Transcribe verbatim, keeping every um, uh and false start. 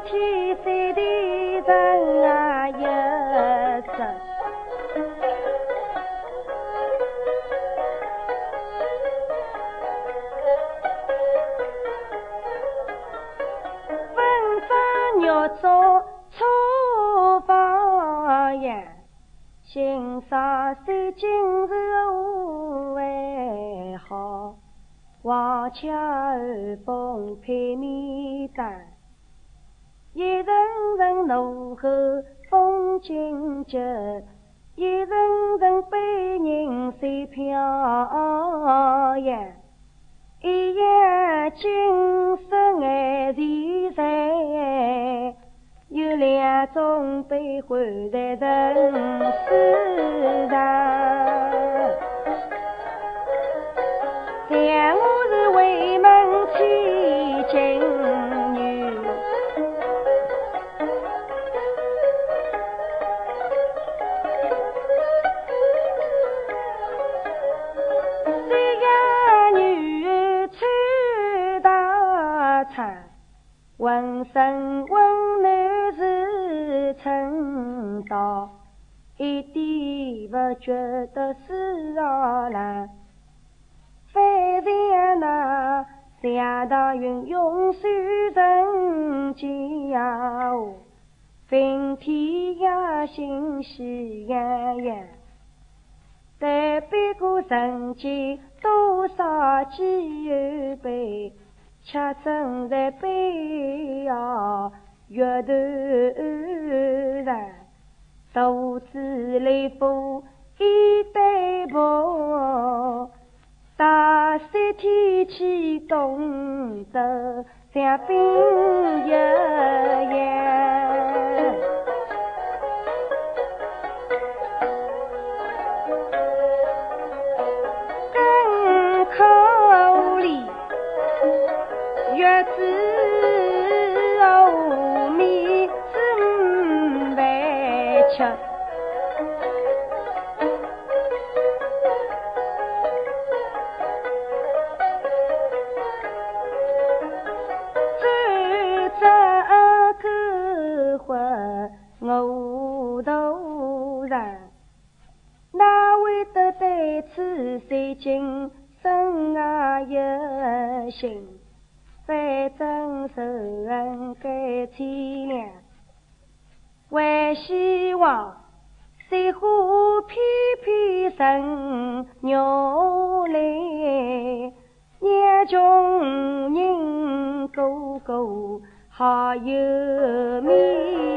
天山的人啊一生。文章要做错方言，欣赏三今日无为好，王腔儿风配面单，一人人怒吼风景急，一人人悲人随飘扬，一夜精神爱自在，有两种悲欢在人世上。像我是为门千金女，这个女儿穿大衫，浑身温暖是称道，一点不觉得是扰难。非像那夏大云涌水人间呀，分天呀心喜洋洋，但别过人间多少几有悲，却正在悲呀月头上，独自来赴一对步。大山天气冻得像冰一样，更口里月子后面是饭吃。我头上，哪会得对此三今生啊一心？反正仇恨该凄凉，还希望水花翩翩生鸟来，让穷人个个好有面。